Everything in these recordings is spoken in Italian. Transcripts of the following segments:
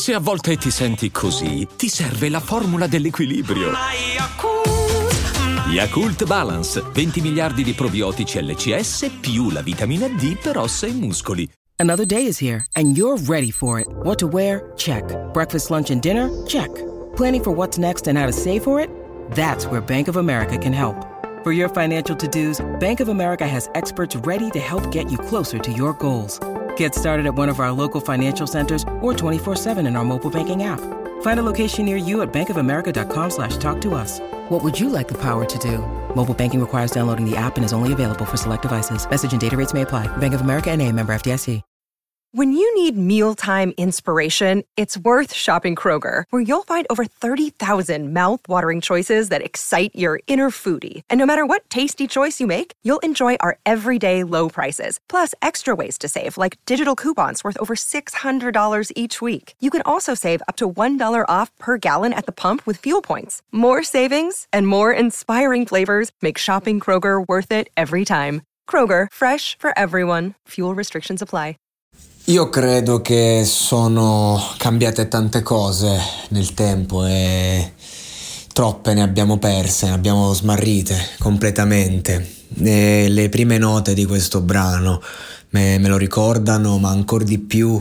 Se a volte ti senti così, ti serve la formula dell'equilibrio. Yakult Balance, 20 miliardi di probiotici LCS più la vitamina D per ossa e muscoli. Another day is here, and you're ready for it. What to wear? Check. Breakfast, lunch, and dinner? Check. Planning for what's next and how to save for it? That's where Bank of America can help. For your financial to-dos, Bank of America has experts ready to help get you closer to your goals. Get started at one of our local financial centers or 24/7 in our mobile banking app. Find a location near you at bankofamerica.com/talktous. What would you like the power to do? Mobile banking requires downloading the app and is only available for select devices. Message and data rates may apply. Bank of America N.A., member FDIC. When you need mealtime inspiration, it's worth shopping Kroger, where you'll find over 30,000 mouth-watering choices that excite your inner foodie. And no matter what tasty choice you make, you'll enjoy our everyday low prices, plus extra ways to save, like digital coupons worth over $600 each week. You can also save up to $1 off per gallon at the pump with fuel points. More savings and more inspiring flavors make shopping Kroger worth it every time. Kroger, fresh for everyone. Fuel restrictions apply. Io credo che sono cambiate tante cose nel tempo e troppe ne abbiamo perse, ne abbiamo smarrite completamente. E le prime note di questo brano me lo ricordano, ma ancor di più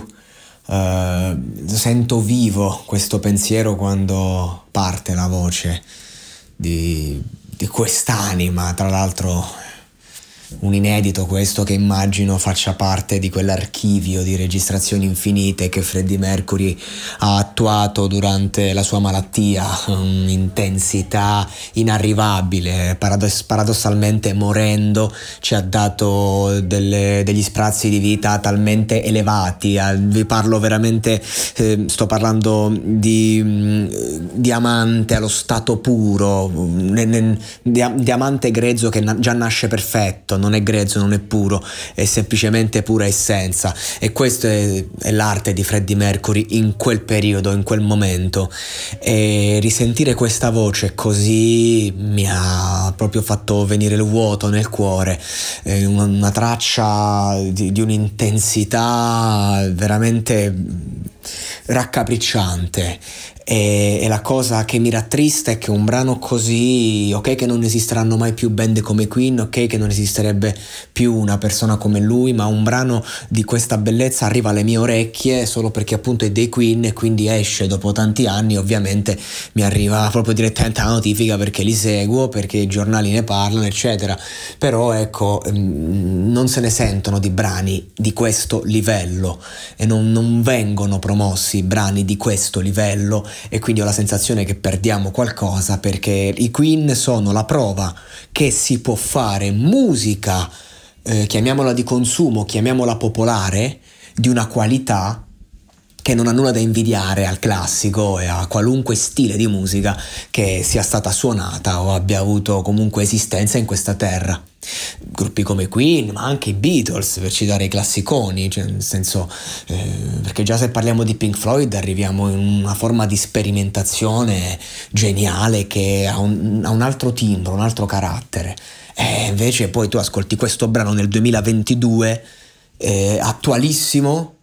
sento vivo questo pensiero quando parte la voce di quest'anima, tra l'altro un inedito questo che immagino faccia parte di quell'archivio di registrazioni infinite che Freddie Mercury ha attuato durante la sua malattia, un'intensità inarrivabile, paradossalmente morendo ci ha dato degli sprazzi di vita talmente elevati. Vi parlo veramente, sto parlando di diamante allo stato puro, diamante grezzo che già nasce perfetto, non è grezzo, non è puro, è semplicemente pura essenza. E questa è l'arte di Freddie Mercury in quel periodo, in quel momento. E risentire questa voce così mi ha proprio fatto venire il vuoto nel cuore, una traccia di un'intensità veramente raccapricciante. E la cosa che mi rattrista è che un brano così, ok che non esisteranno mai più band come Queen, ok che non esisterebbe più una persona come lui, ma un brano di questa bellezza arriva alle mie orecchie solo perché appunto è dei Queen e quindi esce dopo tanti anni. Ovviamente mi arriva proprio direttamente la notifica perché li seguo, perché i giornali ne parlano eccetera, però ecco, non se ne sentono di brani di questo livello e non vengono promossi brani di questo livello. E quindi ho la sensazione che perdiamo qualcosa, perché i Queen sono la prova che si può fare musica, chiamiamola di consumo, chiamiamola popolare, di una qualità che non ha nulla da invidiare al classico e a qualunque stile di musica che sia stata suonata o abbia avuto comunque esistenza in questa terra. Gruppi come Queen, ma anche i Beatles, per citare i classiconi, cioè nel senso, perché già se parliamo di Pink Floyd arriviamo in una forma di sperimentazione geniale che ha un altro timbro, un altro carattere. E invece poi tu ascolti questo brano nel 2022, attualissimo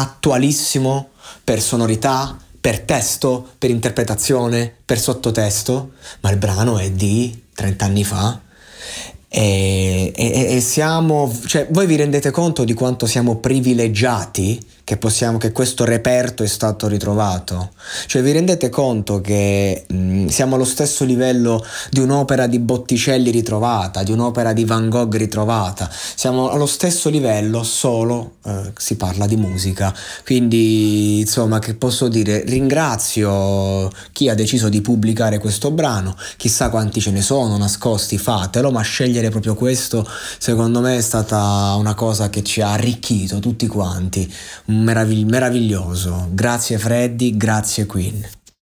per sonorità, per testo, per interpretazione, per sottotesto, ma il brano è di 30 anni fa. E siamo, cioè, voi vi rendete conto di quanto siamo privilegiati che questo reperto è stato ritrovato? Cioè, vi rendete conto che siamo allo stesso livello di un'opera di Botticelli ritrovata, di un'opera di Van Gogh ritrovata? Siamo allo stesso livello, solo si parla di musica. Quindi insomma, che posso dire? Ringrazio chi ha deciso di pubblicare questo brano, chissà quanti ce ne sono nascosti, fatelo, ma scegliere proprio questo secondo me è stata una cosa che ci ha arricchito tutti quanti, meraviglioso. Grazie Freddy, grazie Queen.